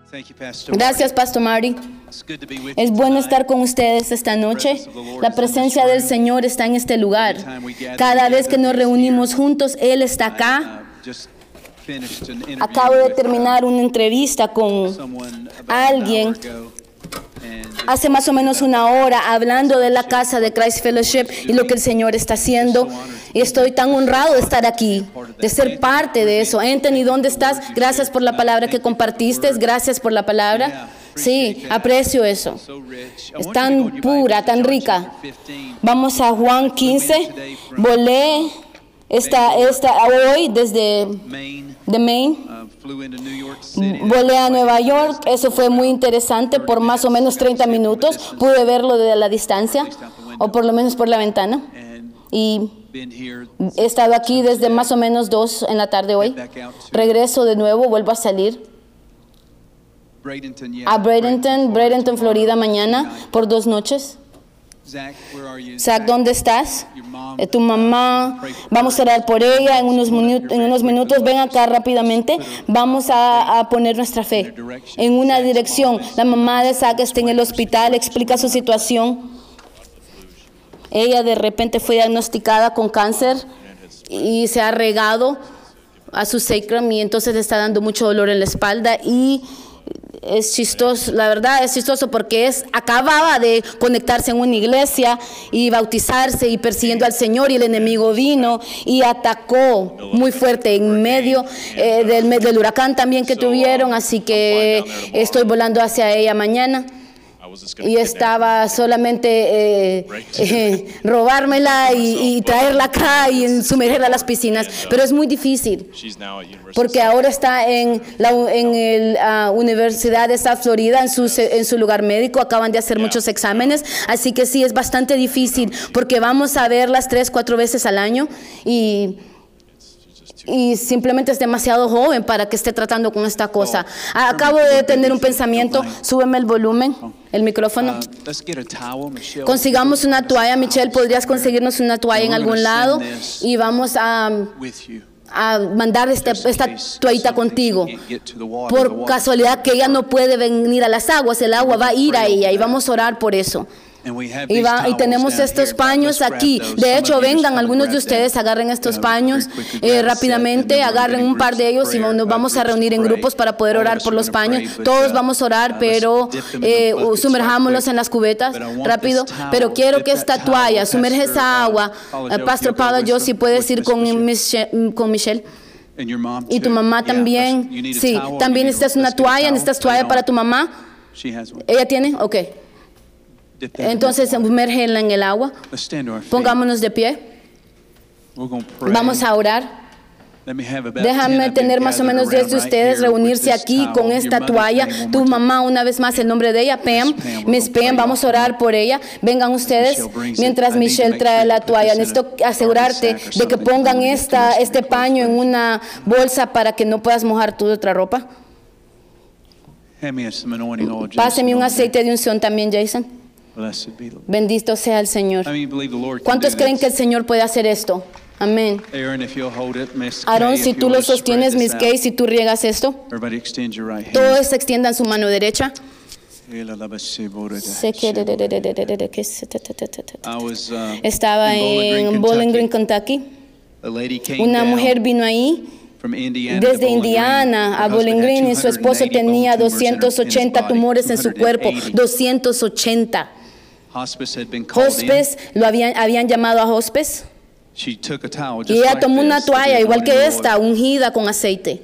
Gracias, Pastor Marty. Es bueno estar con ustedes esta noche. La presencia del Señor está en este lugar. Cada vez que nos reunimos juntos, Él está acá. Acabo de terminar una entrevista con alguien hace más o menos una hora, hablando de la casa de Christ Fellowship y lo que el Señor está haciendo. Y estoy tan honrado de estar aquí, de ser parte de eso. Anthony, ¿dónde estás? Gracias por la palabra que compartiste. Gracias por la palabra. Sí, aprecio eso. Es tan pura, tan rica. Vamos a Juan 15. Volé hoy desde Maine. Volé a Nueva York. Eso fue muy interesante por más o menos 30 minutos. Pude verlo de la distancia, o por lo menos por la ventana. Y he estado aquí desde más o menos 2 en la tarde hoy. Regreso de nuevo, vuelvo a salir a Bradenton, Florida mañana por 2 noches. Zach, ¿dónde estás? Tu mamá, vamos a orar por ella en unos minutos. Ven acá rápidamente. Vamos a poner nuestra fe en una dirección. La mamá de Zach está en el hospital, explica su situación. Ella de repente fue diagnosticada con cáncer y se ha regado a su sacrum y entonces le está dando mucho dolor en la espalda y es chistoso, la verdad es chistoso porque acababa de conectarse en una iglesia y bautizarse y persiguiendo al Señor y el enemigo vino y atacó muy fuerte en medio del huracán también que tuvieron, así que estoy volando hacia ella mañana. Y estaba solamente robármela y traerla acá y sumergirla a las piscinas. Pero es muy difícil porque ahora está en la Universidad de South Florida, en su lugar médico. Acaban de hacer muchos exámenes. Así que sí, es bastante difícil porque vamos a verlas 3-4 veces al año y simplemente es demasiado joven para que esté tratando con esta cosa. Acabo de tener un pensamiento. Súbeme el volumen, el micrófono. Consigamos una toalla. Michelle, ¿podrías conseguirnos una toalla en algún lado? Y vamos a mandar esta toallita contigo. Por casualidad que ella no puede venir a las aguas, el agua va a ir a ella y vamos a orar por eso. Y tenemos estos paños aquí. De hecho, vengan algunos de ustedes, agarren estos paños rápidamente, agarren un par de ellos y nos vamos a reunir en grupos para poder orar por los paños. Todos vamos a orar, pero sumerjámoslos en las cubetas rápido. Pero quiero que esta toalla, sumerge esa agua. Pastor Paula, yo si puedes ir con Michelle. Y tu mamá también. Sí, también necesitas una toalla. ¿Necesitas toalla para tu mamá? ¿Ella tiene? Ok. Entonces, sumérgela en el agua. Pongámonos de pie. Vamos a orar. Déjame tener más o menos 10 de ustedes reunirse aquí con esta toalla. Tu mamá, una vez más, el nombre de ella, Pam. Miss Pam, vamos a orar por ella. Vengan ustedes mientras Michelle trae la toalla. Necesito asegurarte de que pongan este paño en una bolsa para que no puedas mojar tu otra ropa. Páseme un aceite de unción también, Jason. Bendito sea el Señor. ¿Cuántos creen que el Señor puede hacer esto? Amén. Aaron, si tú lo sostienes, Miss Kay, si tú riegas esto, todos extiendan su mano derecha. Estaba en Bowling Green, Kentucky. Una mujer vino ahí desde Indiana a Bowling Green y su esposo tenía 280 tumores en su cuerpo. 280. Hospice, habían llamado a hospice. Y ella tomó una toalla igual que esta, ungida con aceite.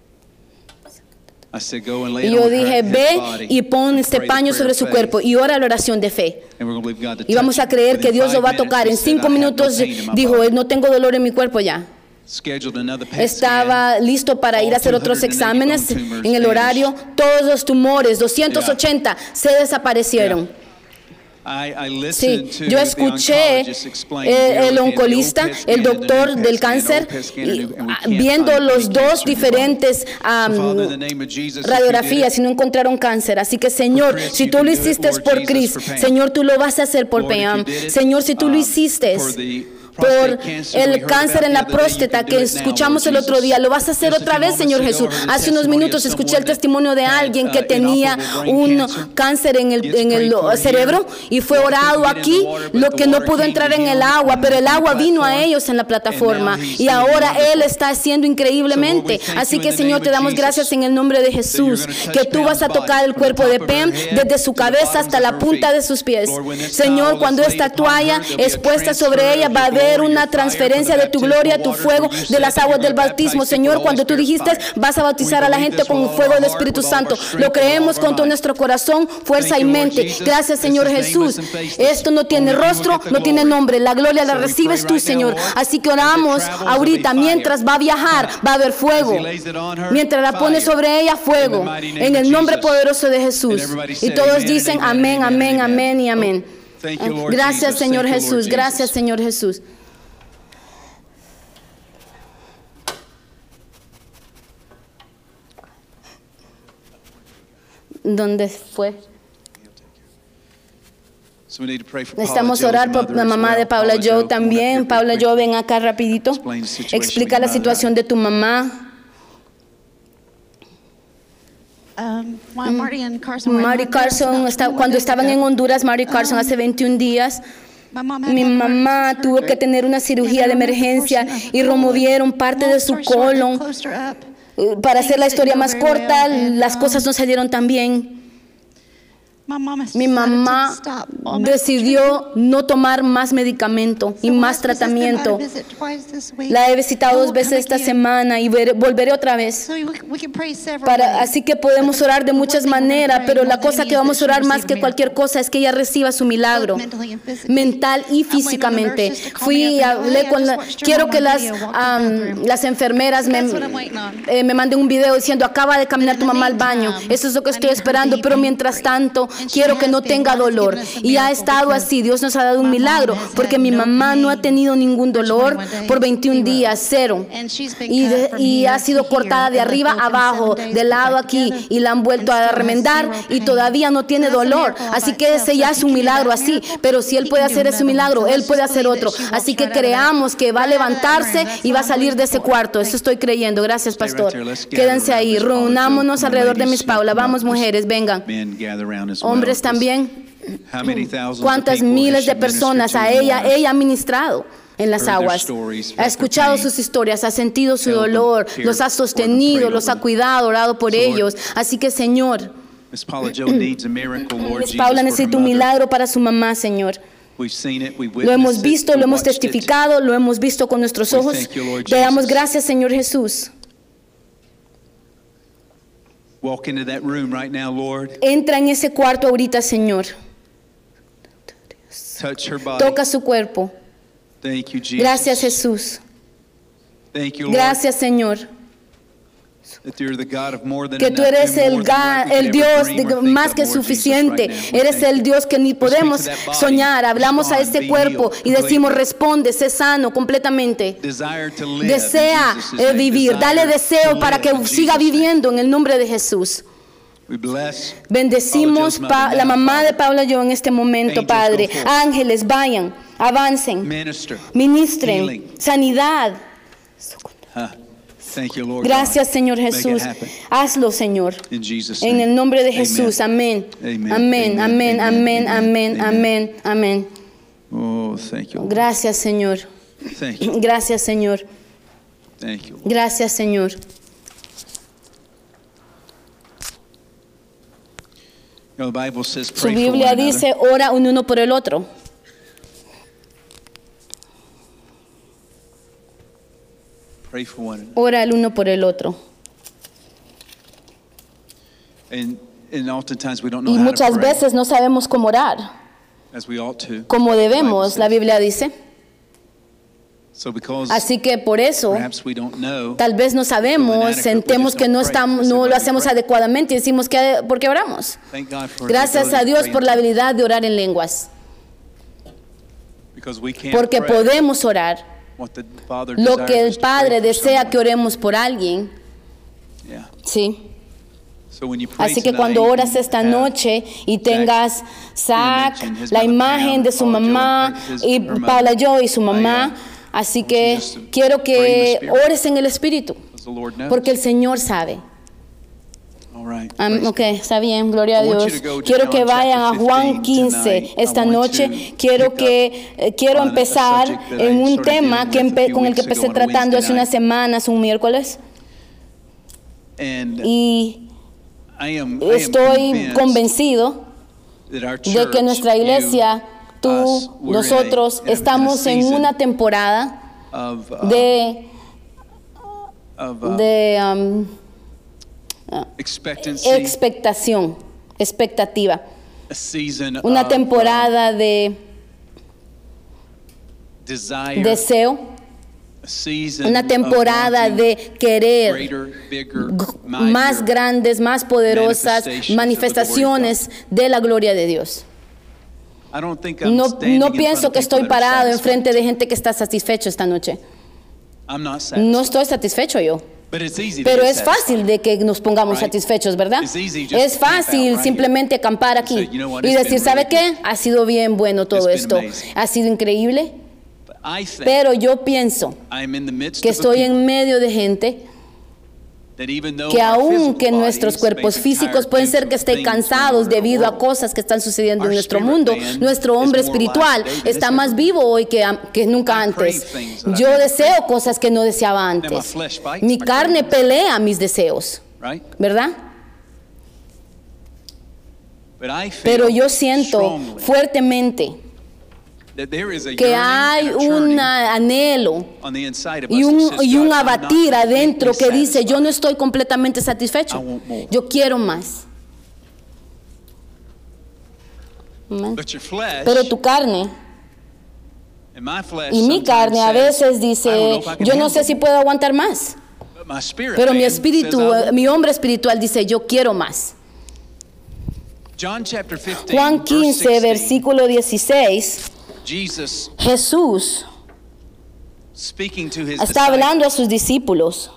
Y yo dije, ve y pon este paño sobre su cuerpo y ora la oración de fe. Y vamos a creer que Dios lo va a tocar. En 5 minutos dijo, no tengo dolor en mi cuerpo ya. Estaba listo para ir a hacer otros exámenes en el horario. Todos los tumores, 280, se desaparecieron. Sí, yo escuché el oncolista, el doctor del cáncer, viendo los dos diferentes radiografías y no encontraron cáncer. Así que, Señor, si tú lo hiciste por Chris, Señor, tú lo vas a hacer por Pam. Señor, si tú lo hiciste por el cáncer en la próstata que escuchamos el otro día. Lo vas a hacer otra vez, Señor Jesús. Hace unos minutos escuché el testimonio de alguien que tenía un cáncer en el cerebro y fue orado aquí, lo que no pudo entrar en el agua, pero el agua vino a ellos en la plataforma y ahora Él está haciendo increíblemente. Así que, Señor, te damos gracias en el nombre de Jesús, que tú vas a tocar el cuerpo de Pam desde su cabeza hasta la punta de sus pies. Señor, cuando esta toalla es puesta sobre ella, va a haber una transferencia de tu gloria, tu fuego, de las aguas del bautismo. Señor, cuando tú dijiste, vas a bautizar a la gente con el fuego del Espíritu Santo, lo creemos con todo nuestro corazón, fuerza y mente. Gracias, Señor Jesús. Esto no tiene rostro, no tiene nombre. La gloria la recibes tú, Señor. Así que oramos ahorita, mientras va a viajar, va a haber fuego. Mientras la pones sobre ella, fuego. En el nombre poderoso de Jesús. Y todos dicen amén, amén, amén y amén. Gracias, Señor Jesús. Gracias, Señor Jesús. ¿Dónde fue? Necesitamos orar por la mamá de Paula Joe también. Paula Joe, ven acá rapidito. Explica la situación de tu mamá. Marty Carson, cuando estaban en Honduras, Marty Carson hace 21 días, mi mamá tuvo que tener una cirugía de emergencia y removieron parte de su colon. Para hacer la historia más corta, las cosas no salieron tan bien. Mi mamá decidió no tomar más medicamento y más tratamiento. La he visitado 2 veces esta semana y volveré otra vez. Así que podemos orar de muchas maneras, pero la cosa que vamos a orar más que cualquier cosa es que ella reciba su milagro, mental y físicamente. Fui y hablé con quiero que las enfermeras me manden un video diciendo, acaba de caminar tu mamá al baño. Eso es lo que estoy esperando, pero mientras tanto, quiero que no tenga dolor. Y ha estado así. Dios nos ha dado un milagro, porque mi mamá no ha tenido ningún dolor por 21 días, 0. Y ha sido cortada de arriba a abajo, de lado aquí, y la han vuelto a remendar y todavía no tiene dolor. Así que ese ya es un milagro así. Pero si Él puede hacer ese milagro, Él puede hacer otro. Así que creamos que va a levantarse y va a salir de ese cuarto. Eso estoy creyendo. Gracias, pastor. Quédense ahí. Reunámonos alrededor de Miss Paula. Vamos, mujeres, vengan. Hombres también. ¿Cuántas miles de personas ella ha ministrado en las aguas? Ha escuchado sus historias, ha sentido su dolor, los ha sostenido, los ha cuidado, orado por ellos. Así que, Señor, Miss Paula necesita un milagro para su mamá, Señor. Lo hemos visto, lo hemos testificado, lo hemos visto con nuestros ojos. Te damos gracias, Señor Jesús. Entra en ese cuarto ahorita, Señor. Toca su cuerpo. Gracias, Jesús. Gracias, Señor. Que tú eres el Dios más que suficiente. Eres el Dios que ni podemos soñar. Hablamos a este cuerpo y decimos, responde, sé sano completamente. Desea vivir, dale deseo para que siga viviendo en el nombre de Jesús. Bendecimos la mamá de Paula Joe en este momento, Padre. Ángeles, vayan, avancen, ministren, sanidad. Gracias, Señor Jesús. Hazlo, Señor. En el nombre de Jesús. Amén. Amén, amén, amén, amén, amén, amén. Gracias, Señor. Gracias, Señor. Gracias, Señor. Su Biblia dice, ora uno por el otro. Ora el uno por el otro. Y muchas veces no sabemos cómo orar como debemos, la Biblia dice. Así que por eso, tal vez no sabemos, sentemos que no lo hacemos adecuadamente y decimos, ¿por qué oramos? Gracias a Dios por la habilidad de orar en lenguas. Porque podemos orar lo que el Padre desea que oremos por alguien. Sí. Así que cuando oras esta noche y tengas la imagen de su mamá y Paula Joe y su mamá, Así que quiero que ores en el Espíritu, porque el Señor sabe. Ok, está bien, gloria a Dios. Quiero que vayan a Juan 15 esta noche. Quiero empezar en un tema con el que empecé tratando hace unas semanas, un miércoles. Y estoy convencido de que nuestra iglesia, nosotros, estamos en una temporada de expectativa, una temporada de deseo, una temporada de querer más grandes, más poderosas manifestaciones de la gloria de Dios. No pienso que estoy parado enfrente de gente que está satisfecho esta noche. No estoy satisfecho yo. Pero es fácil de que nos pongamos satisfechos, ¿verdad? Es fácil simplemente acampar aquí y decir, ¿sabe qué? Ha sido bien bueno todo esto. Ha sido increíble. Pero yo pienso que estoy en medio de gente que aunque nuestros cuerpos físicos pueden ser que estén cansados debido a cosas que están sucediendo en nuestro mundo, nuestro hombre espiritual está más vivo hoy que nunca antes. Yo deseo cosas que no deseaba antes. Mi carne pelea mis deseos, ¿verdad? Pero yo siento fuertemente que hay un anhelo y un abatir adentro que dice, yo no estoy completamente satisfecho, yo quiero más. Pero tu carne y mi carne a veces dice, yo no sé si puedo aguantar más. Pero mi espíritu, mi hombre espiritual dice, yo quiero más. Juan 15, versículo 16. Jesús está hablando a sus discípulos.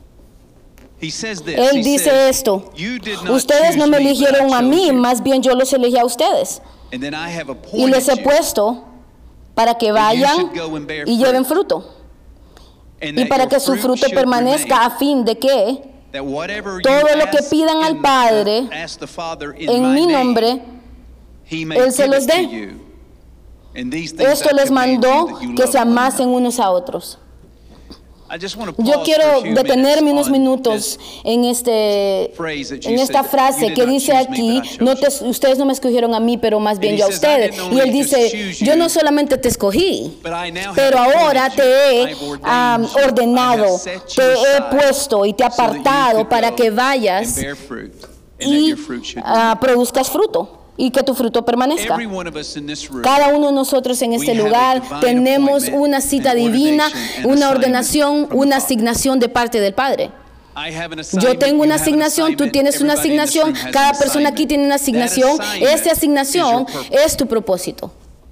Él dice esto: ustedes no me eligieron a mí, más bien yo los elegí a ustedes. Y les he puesto para que vayan y lleven fruto. Y para que su fruto permanezca, a fin de que todo lo que pidan al Padre en mi nombre, Él se los dé. Esto les mandó que se amasen unos a otros. Yo quiero detenerme unos minutos en esta frase que dice aquí, ustedes no me escogieron a mí, pero más bien yo a ustedes. Y él dice, yo no solamente te escogí, pero ahora te he ordenado, te he puesto y te he apartado para que vayas y produzcas fruto. Y que tu fruto permanezca. Cada uno de nosotros en este lugar tenemos una cita divina, una ordenación, una asignación de parte del Padre. Yo tengo una asignación, tú tienes una asignación, cada persona aquí tiene una asignación. Esa asignación es tu propósito.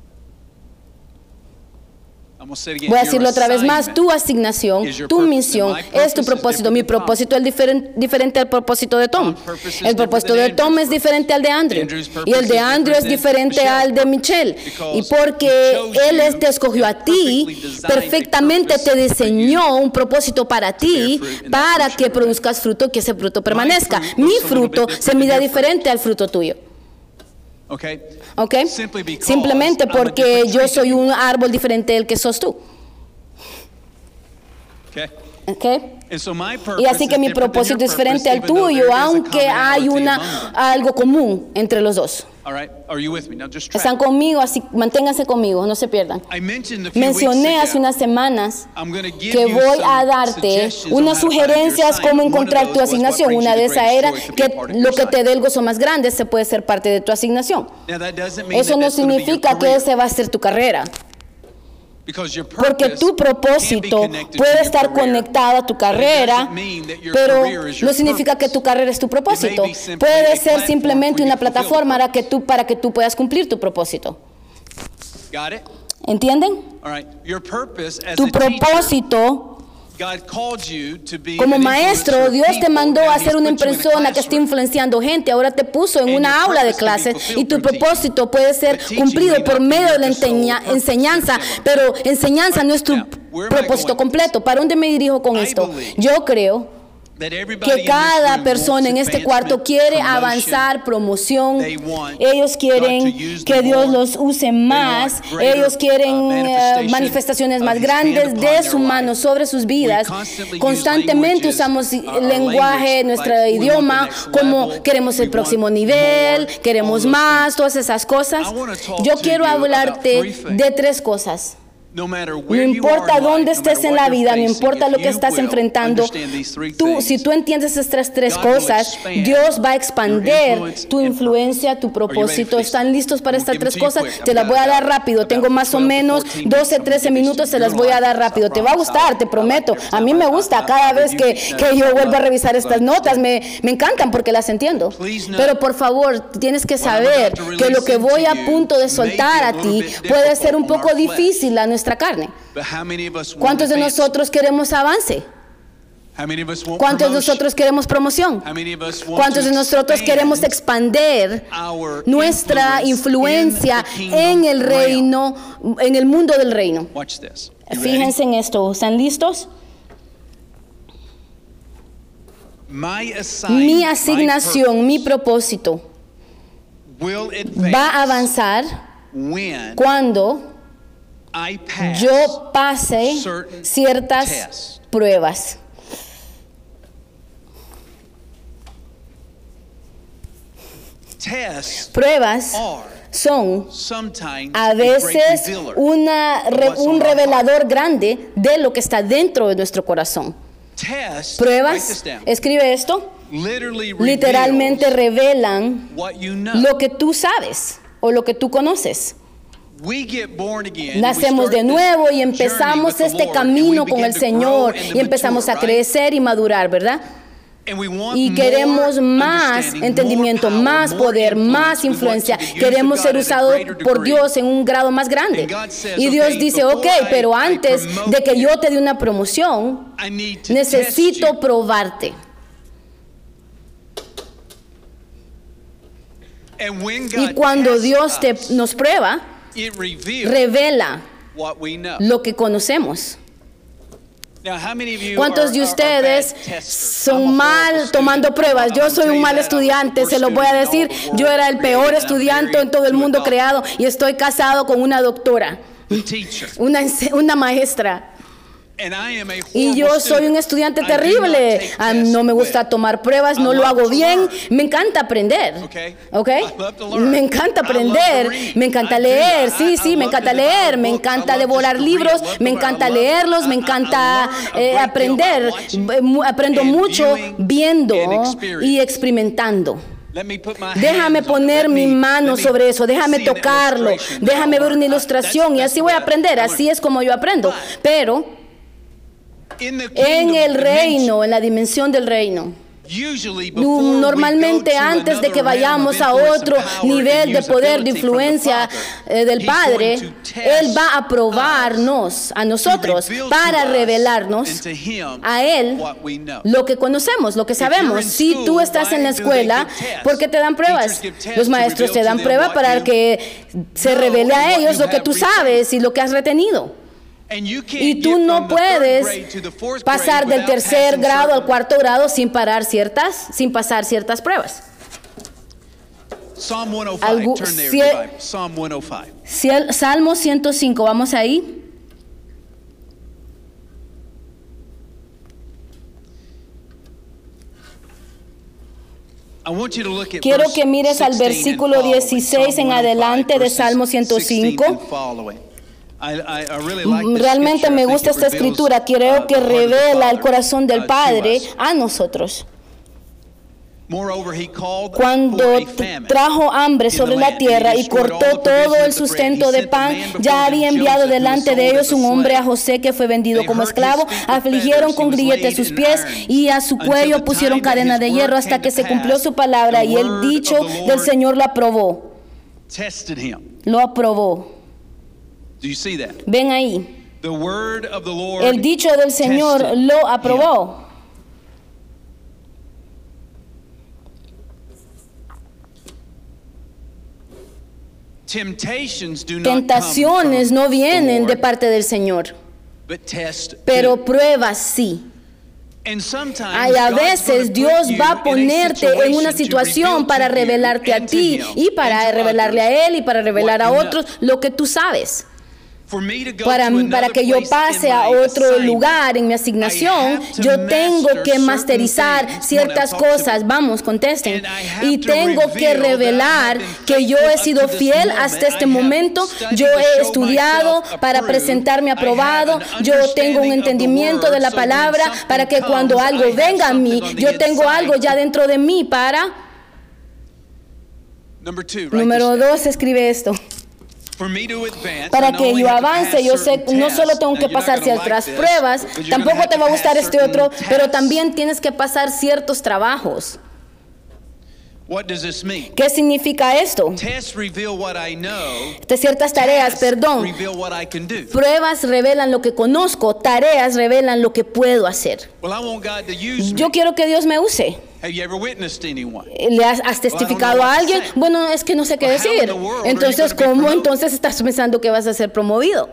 Voy a decirlo otra vez más, tu asignación, tu misión es tu propósito. Mi propósito es diferente al propósito de Tom. El propósito de Tom es diferente al de Andrew. Y el de Andrew es diferente al de Michelle. Y porque él te escogió a ti, perfectamente te diseñó un propósito para ti, para que produzcas fruto y que ese fruto permanezca. Mi fruto se mira diferente al fruto tuyo. ¿Ok? Simplemente porque yo soy un árbol diferente del que sos tú. ¿Ok? Y así que mi propósito es diferente al tuyo, aunque hay algo común entre los dos. ¿Están conmigo? Así manténganse conmigo, no se pierdan. Mencioné hace unas semanas que voy a darte unas sugerencias cómo encontrar tu asignación. Una de esas era que lo que te dé el gozo más grande se puede ser parte de tu asignación. Eso no significa que ese va a ser tu carrera. Porque tu propósito puede estar conectado a tu carrera, pero no significa que tu carrera es tu propósito. Puede ser simplemente una plataforma para que tú puedas cumplir tu propósito. ¿Entienden? Tu propósito como maestro, Dios te mandó a ser una persona que esté influenciando gente. Ahora te puso en una aula de clases y tu propósito puede ser cumplido por medio de la enseñanza, pero enseñanza no es tu propósito completo. ¿Para dónde me dirijo con esto? Yo creo que cada persona en este cuarto quiere avanzar, promoción. Ellos quieren que Dios los use más. Ellos quieren manifestaciones más grandes de su mano sobre sus vidas. Constantemente usamos el lenguaje, nuestro idioma, como queremos el próximo nivel, queremos más, todas esas cosas. Yo quiero hablarte de 3 cosas. No importa dónde estés en la vida, no importa lo que estás enfrentando, si tú entiendes estas 3 cosas, Dios va a expandir tu influencia, tu propósito. ¿Están listos para estas 3 cosas? Te las voy a dar rápido. Tengo más o menos 12, 13 minutos, te las voy a dar rápido. Te va a gustar, te prometo. A mí me gusta cada vez que yo vuelvo a revisar estas notas. Me encantan porque las entiendo. Pero por favor, tienes que saber que lo que voy a punto de soltar a ti puede ser un poco difícil a nuestra carne. ¿Cuántos de nosotros queremos avance? ¿Cuántos de nosotros queremos promoción? ¿Cuántos de nosotros queremos expandir nuestra influencia en el reino, en el mundo del reino? Fíjense en esto. ¿Están listos? Mi asignación, mi propósito va a avanzar cuando yo pase ciertas pruebas. Pruebas son a veces un revelador grande de lo que está dentro de nuestro corazón. Pruebas, escribe esto, literalmente revelan lo que tú sabes o lo que tú conoces. Nacemos de nuevo y empezamos este camino con el Señor y empezamos a crecer y madurar, ¿verdad? Y queremos más entendimiento, más poder, más influencia. Queremos ser usados por Dios en un grado más grande. Y Dios dice, ok, pero antes de que yo te dé una promoción, necesito probarte. Y cuando Dios nos prueba, revela lo que conocemos. ¿Cuántos de ustedes son mal tomando pruebas? Yo soy un mal estudiante, se lo voy a decir. Yo era el peor estudiante en todo el mundo creado y estoy casado con una doctora, una maestra. Y yo soy un estudiante terrible. No me gusta tomar pruebas, no lo hago bien. Me encanta aprender. ¿Ok? Me encanta aprender. Me encanta leer. Sí, me encanta leer. Me encanta devorar libros. Me encanta leerlos. Me encanta aprender. Aprendo mucho viendo y experimentando. Déjame poner mi mano sobre eso, déjame tocarlo, déjame ver una ilustración y así voy a aprender. Así es como yo aprendo. Pero en el reino, en la dimensión del reino, normalmente antes de que vayamos a otro nivel de poder, de influencia del Padre, Él va a probarnos a nosotros para revelarnos a Él lo que conocemos, lo que sabemos. Si tú estás en la escuela, ¿por qué te dan pruebas? Los maestros te dan pruebas para que se revele a ellos lo que tú sabes y lo que has retenido. Y tú no puedes pasar del 3er grado al 4º grado sin pasar ciertas pruebas. Salmo 105, vamos ahí. Quiero que mires al versículo 16 en adelante de Salmo 105. Realmente me gusta esta escritura. Creo que revela el corazón del Padre a nosotros. Cuando trajo hambre sobre la tierra y cortó todo el sustento de pan, ya había enviado delante de ellos un hombre, a José, que fue vendido como esclavo. Afligieron con grilletes sus pies y a su cuello pusieron cadena de hierro hasta que se cumplió su palabra, y el dicho del Señor lo aprobó. Lo aprobó. Ven ahí. El dicho del Señor lo aprobó. Tentaciones no vienen de parte del Señor. pero pruebas sí. Y a veces Dios va a ponerte en una situación para revelarte a ti y para revelarle a Él y para revelar a otros lo que tú sabes. Para que yo pase a otro lugar en mi asignación, yo tengo que masterizar ciertas cosas. Vamos, contesten. Y tengo que revelar que yo he sido fiel hasta este momento. Yo he estudiado para presentarme aprobado. Yo tengo un entendimiento de la palabra para que cuando algo venga a mí, yo tengo algo ya dentro de mí para... Número 2, escribe esto. Para que yo avance, yo sé, no solo tengo que pasar ciertas pruebas, tampoco te va a gustar este otro, pero también tienes que pasar ciertos trabajos. ¿Qué significa esto? De ciertas tareas, perdón. Pruebas revelan lo que conozco, tareas revelan lo que puedo hacer. Yo quiero que Dios me use. ¿Le has testificado a alguien? Bueno, es que no sé qué decir. Entonces, ¿cómo entonces estás pensando que vas a ser promovido?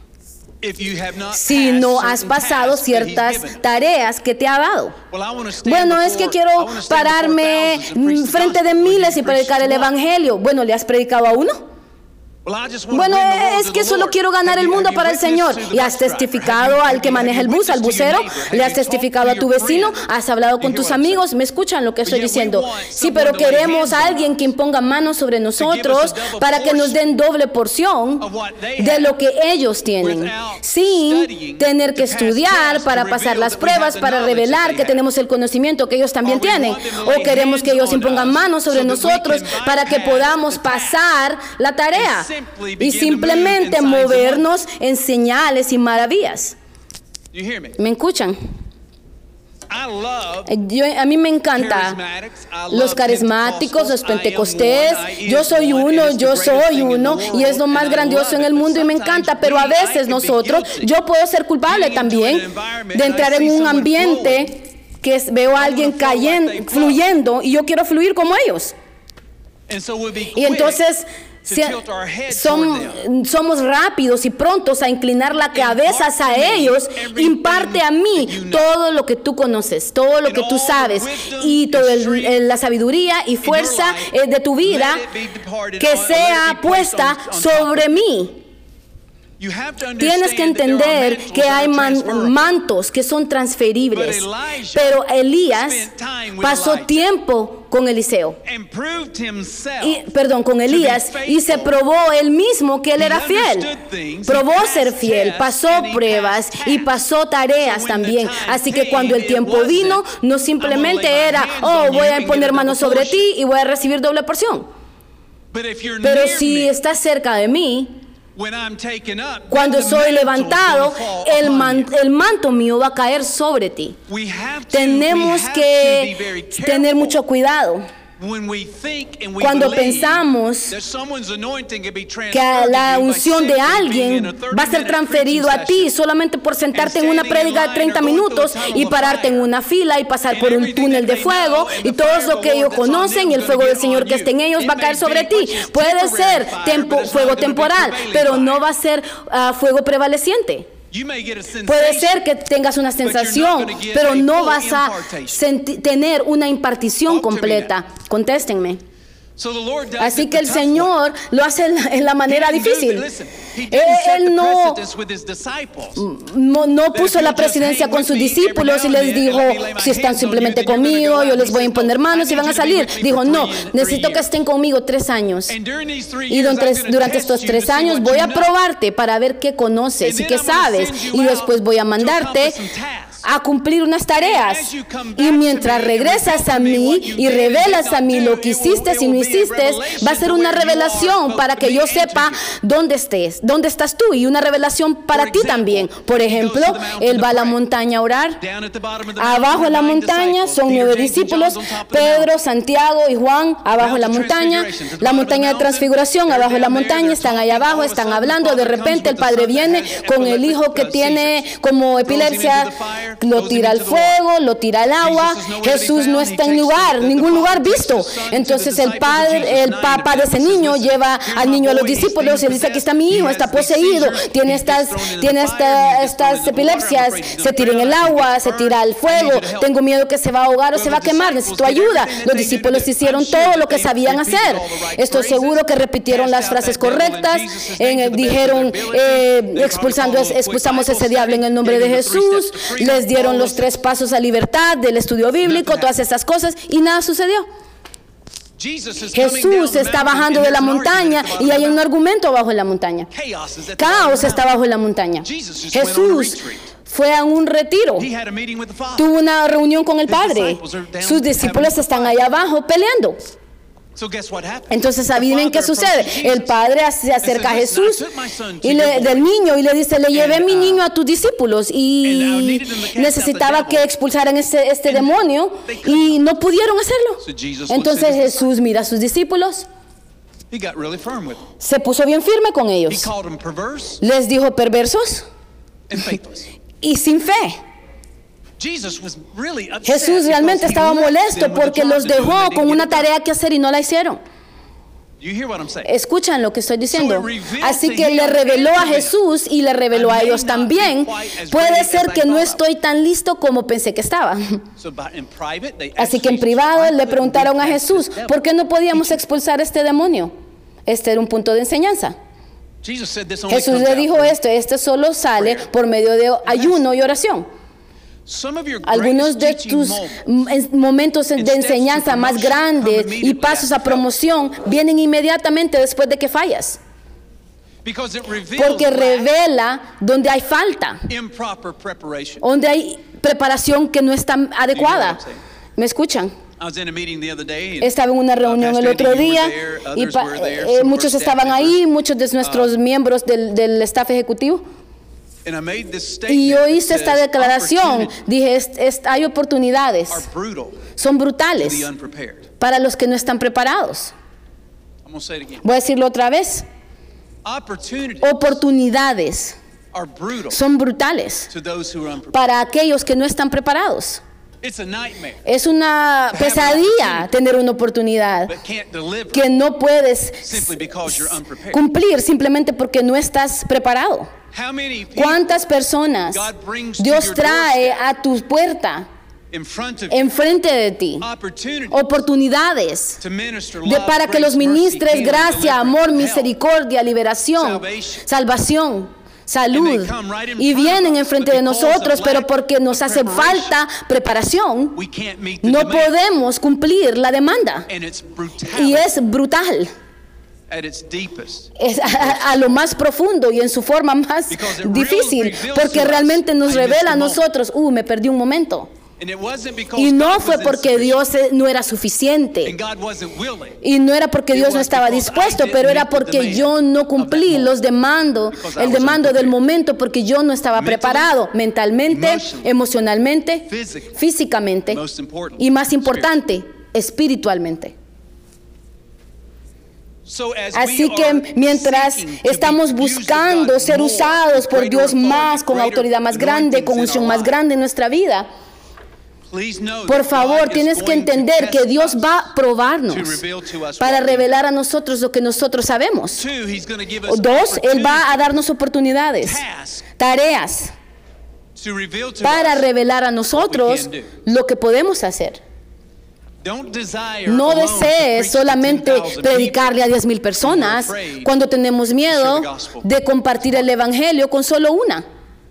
Si no has pasado ciertas tareas que te ha dado. Bueno, es que quiero pararme frente de miles y predicar el evangelio. Bueno, ¿le has predicado a uno? Bueno, es que solo quiero ganar el mundo para el Señor. ¿Y has testificado al que maneja el bus, al bucero? ¿Le has testificado a tu vecino? ¿Has hablado con tus amigos? ¿Me escuchan lo que estoy diciendo? Sí, pero queremos a alguien que imponga manos sobre nosotros para que nos den doble porción de lo que ellos tienen, sin tener que estudiar para pasar las pruebas, para revelar que tenemos el conocimiento que ellos también tienen. O queremos que ellos impongan manos sobre nosotros para que podamos pasar la tarea y simplemente movernos en señales y maravillas. ¿Me escuchan? A mí me encanta los carismáticos, los pentecostés. Yo soy uno y es lo más grandioso en el mundo y me encanta, pero a veces yo puedo ser culpable también de entrar en un ambiente que veo a alguien fluyendo y yo quiero fluir como ellos. Y entonces somos rápidos y prontos a inclinar la cabeza a ellos. Imparte a mí todo lo que tú conoces, todo lo que tú sabes y toda la sabiduría y fuerza de tu vida que sea puesta sobre mí. Tienes que entender que hay mantos que son transferibles, pero Elías pasó tiempo con Eliseo, con Elías, y se probó él mismo que él era fiel. Probó ser fiel, pasó pruebas y pasó tareas también. Así que cuando el tiempo vino, no simplemente era, voy a poner manos sobre ti y voy a recibir doble porción. Pero si estás cerca de mí, cuando soy levantado, el manto mío va a caer sobre ti. Tenemos que tener mucho cuidado. Cuando pensamos que la unción de alguien va a ser transferido a ti solamente por sentarte en una prédica de 30 minutos y pararte en una fila y pasar por un túnel de fuego y todo lo que ellos conocen y el fuego del Señor que esté en ellos va a caer sobre ti. Puede ser fuego temporal, pero no va a ser fuego prevaleciente. Puede ser que tengas una sensación, pero no vas a tener una impartición completa. Contéstenme. Así que el Señor lo hace en la manera difícil. Él no puso la presidencia con sus discípulos y les dijo, si están simplemente conmigo, yo les voy a imponer manos y van a salir. Dijo, no, necesito que estén conmigo 3 años. Y durante estos 3 años voy a probarte para ver qué conoces y qué sabes. Y después voy a mandarte a cumplir unas tareas. Y mientras regresas a mí y revelas a mí lo que hiciste y no hiciste, va a ser una revelación para que yo sepa dónde estás tú, y una revelación para ti también. Por ejemplo, él va a la montaña a orar. Abajo en la montaña son 9 discípulos, Pedro, Santiago y Juan. Abajo en la montaña de transfiguración, abajo en la montaña, están allá abajo, están hablando. De repente el padre viene con el hijo que tiene como epilepsia, lo tira al fuego, lo tira al agua. Jesús no está en ningún lugar visto. Entonces el papá de ese niño lleva al niño a los discípulos y dice: aquí está mi hijo, está poseído, tiene estas epilepsias, se tira en el agua, se tira al fuego, tengo miedo que se va a ahogar o se va a quemar, necesito ayuda. Los discípulos hicieron todo lo que sabían hacer. Estoy seguro que repitieron las frases correctas, dijeron: expulsamos ese diablo en el nombre de Jesús, les dieron los 3 pasos a libertad del estudio bíblico, todas estas cosas, y nada sucedió. Jesús está bajando de la montaña y hay un argumento abajo de la montaña. Caos está abajo de la montaña. Jesús fue a un retiro, tuvo una reunión con el Padre. Sus discípulos están allá abajo peleando. Entonces, ¿saben qué sucede? El padre se acerca a Jesús del niño y le dice: le llevé mi niño a tus discípulos y necesitaba que expulsaran este demonio y no pudieron hacerlo. Entonces Jesús mira a sus discípulos, se puso bien firme con ellos, les dijo perversos y sin fe. Jesús realmente estaba molesto porque los dejó con una tarea que hacer y no la hicieron. Escuchan lo que estoy diciendo. Así que le reveló a Jesús y le reveló a ellos también: puede ser que no estoy tan listo como pensé que estaba. Así que en privado le preguntaron a Jesús: ¿por qué no podíamos expulsar este demonio? Este era un punto de enseñanza. Jesús le dijo: este solo sale por medio de ayuno y oración. Algunos de tus momentos de enseñanza más grandes y pasos a promoción vienen inmediatamente después de que fallas. Porque revela donde hay falta, donde hay preparación que no está adecuada. ¿Me escuchan? Estaba en una reunión el otro día y muchos estaban ahí, muchos de nuestros miembros del staff ejecutivo. Y yo hice esta declaración, dije: hay oportunidades, son brutales para los que no están preparados. Voy a decirlo otra vez: oportunidades son brutales para aquellos que no están preparados. Es una pesadilla tener una oportunidad que no puedes cumplir simplemente porque no estás preparado. ¿Cuántas personas Dios trae a tu puerta, enfrente de ti? Oportunidades para que los ministres gracia, amor, misericordia, liberación, salvación, salud, y vienen enfrente de nosotros, pero porque nos hace falta preparación, no podemos cumplir la demanda. Y es brutal. Es a lo más profundo y en su forma más difícil, porque realmente nos revela a nosotros: me perdí un momento. Y no fue porque Dios no era suficiente, y no era porque Dios no estaba dispuesto, pero era porque yo no cumplí el demando del momento, porque yo no estaba preparado mentalmente, emocionalmente, físicamente y, más importante, espiritualmente. Así que mientras estamos buscando ser usados por Dios más, con autoridad más grande, con unción más grande en nuestra vida, por favor, tienes que entender que Dios va a probarnos para revelar a nosotros lo que nosotros sabemos. 2, Él va a darnos oportunidades, tareas, para revelar a nosotros lo que podemos hacer. No desees solamente predicarle a 10,000 personas cuando tenemos miedo de compartir el evangelio con solo una.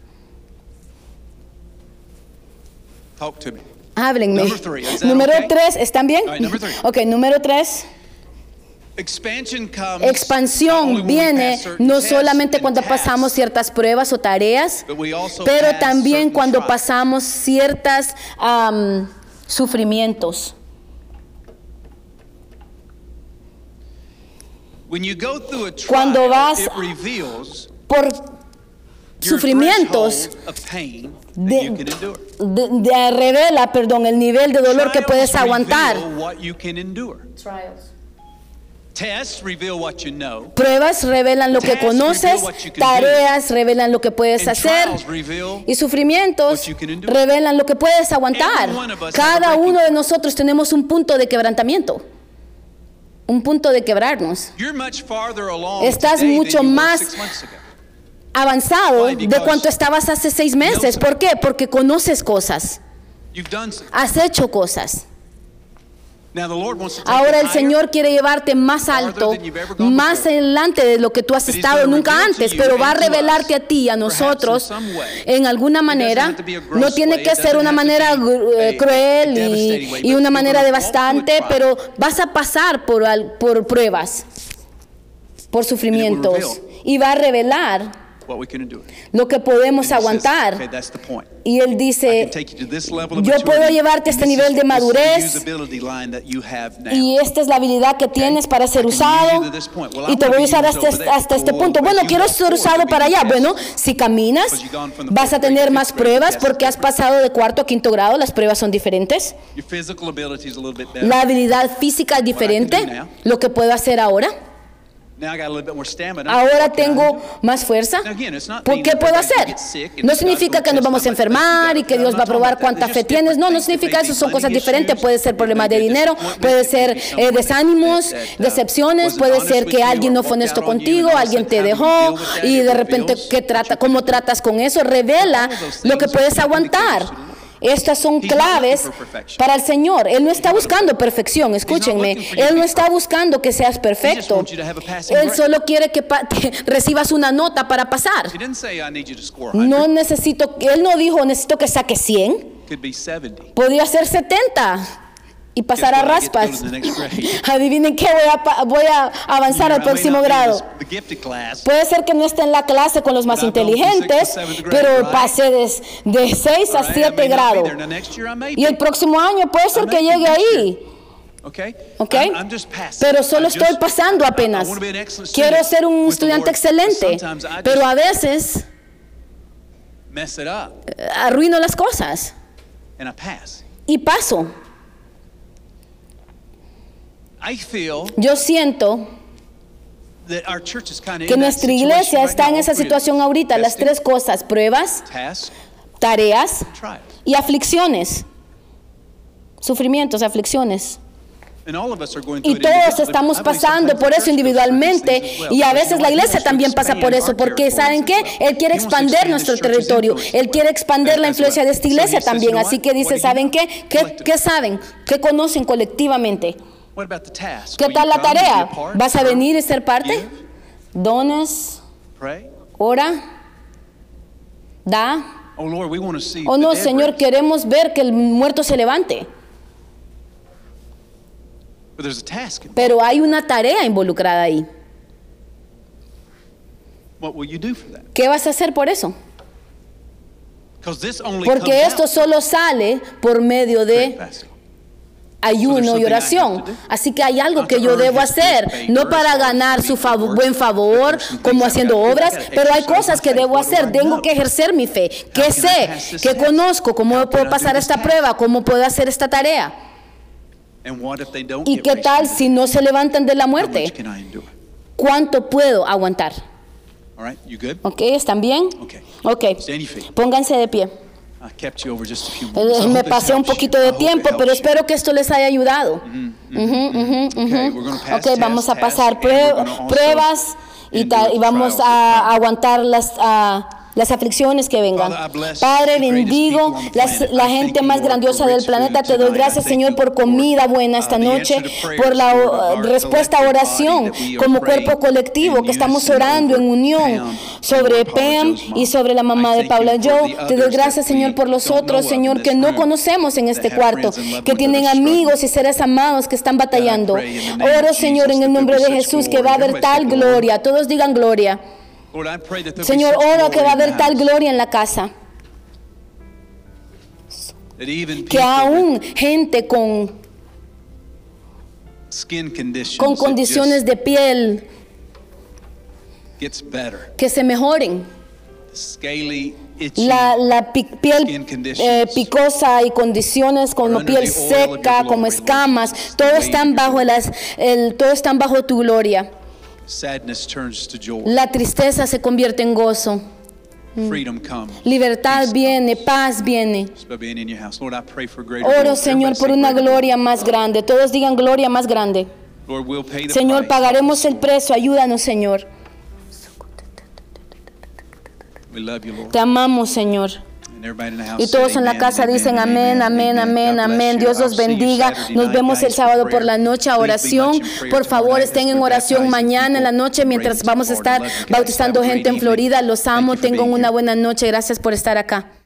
Háblenme. Número 3, ¿están bien? Ok, número 3. Expansión viene no solamente cuando pasamos ciertas pruebas o tareas, pero también cuando pasamos ciertos sufrimientos. Cuando vas por sufrimientos, revela, el nivel de dolor que puedes aguantar. Pruebas revelan lo que conoces, tareas revelan lo que puedes hacer y sufrimientos revelan lo que puedes aguantar. Cada uno de nosotros tenemos un punto de quebrantamiento, un punto de quebrarnos. Estás mucho más avanzado de cuanto estabas hace 6 meses. ¿Por qué? Porque conoces cosas, has hecho cosas. Ahora el Señor quiere llevarte más alto, más adelante de lo que tú has estado nunca antes, pero va a revelarte a ti, a nosotros, en alguna manera. No tiene que ser una manera cruel y una manera devastante, pero vas a pasar por pruebas, por sufrimientos, y va a revelar lo que podemos aguantar. Y Él dice, yo puedo llevarte a este nivel de madurez y esta es la habilidad que tienes para ser usado y te voy a usar hasta este punto. Bueno, quiero ser usado para allá. Bueno, si caminas vas a tener más pruebas porque has pasado de 4º a 5º grado. Las pruebas son diferentes. La habilidad física es diferente. Lo que puedo hacer ahora. Ahora tengo más fuerza. ¿Por qué puedo hacer? No significa que nos vamos a enfermar y que Dios va a probar cuánta fe tienes. No, no significa eso. Son cosas diferentes. Puede ser problemas de dinero, puede ser desánimos, decepciones, puede ser que alguien no fue honesto contigo, alguien te dejó y de repente cómo tratas con eso. Revela lo que puedes aguantar. Estas son claves para el Señor. Él no está buscando perfección, escúchenme. Él no está buscando que seas perfecto. Él solo quiere que recibas una nota para pasar. No necesito, Él no dijo necesito que saques 100. Podría ser 70 y pasar a raspas. Adivinen qué, voy a avanzar al próximo grado. Puede ser que no esté en la clase con los más inteligentes, pero pasé de 6 a 7 grados. Y el próximo año puede ser que llegue ahí. ¿Ok? Pero solo estoy pasando apenas. Quiero ser un estudiante excelente, pero a veces arruino las cosas y paso. Yo siento que nuestra iglesia está en esa situación ahorita. Las 3 cosas: pruebas, tareas y aflicciones. Sufrimientos, aflicciones. Y todos estamos pasando por eso individualmente, y a veces la iglesia también pasa por eso, porque ¿saben qué? Él quiere expandir nuestro territorio, Él quiere expandir la influencia de esta iglesia también. Así que dice, ¿saben qué? ¿Qué saben? ¿Qué conocen colectivamente? ¿Qué tal la tarea? ¿Vas a venir y ser parte? Dones, ora, da. Oh no, Señor, queremos ver que el muerto se levante. Pero hay una tarea involucrada ahí. ¿Qué vas a hacer por eso? Porque esto solo sale por medio de ayuno y oración. Así que hay algo que yo debo hacer, no para ganar su buen favor, como haciendo obras, pero hay cosas que debo hacer. Tengo que ejercer mi fe. ¿Qué sé? ¿Qué conozco? ¿Cómo puedo pasar esta prueba? ¿Cómo puedo hacer esta tarea? ¿Y qué tal si no se levantan de la muerte? ¿Cuánto puedo aguantar? ¿Ok? ¿Están bien? Ok. Pónganse de pie. Me pasé un poquito de tiempo, pero espero que esto les haya ayudado. Ok, vamos a pasar pruebas y vamos a aguantar las aflicciones que vengan. Padre, bendigo la gente más grandiosa del planeta. Te doy gracias, Señor, por comida buena esta noche, por la respuesta a oración como cuerpo colectivo que estamos orando en unión sobre Pam y sobre la mamá de Paula. Yo te doy gracias, Señor, por los otros, Señor, que no conocemos en este cuarto, que tienen amigos y seres amados que están batallando. Oro, Señor, en el nombre de Jesús, que va a haber tal gloria. Todos digan gloria. Señor, oro que va a haber tal gloria en la casa, que aún gente con condiciones de piel que se mejoren la piel picosa y condiciones como piel seca, como escamas, todos están bajo tu gloria. La tristeza se convierte en gozo. Libertad viene, paz viene. Oro, Señor, por una gloria más grande. Todos digan gloria más grande. Señor, pagaremos el precio. Ayúdanos, Señor. Te amamos, Señor. Y todos en la casa dicen amén, amén, amén, amén. Dios los bendiga. Nos vemos el sábado por la noche a oración. Por favor, estén en oración mañana en la noche mientras vamos a estar bautizando gente en Florida. Los amo. Tengan una buena noche. Gracias por estar acá.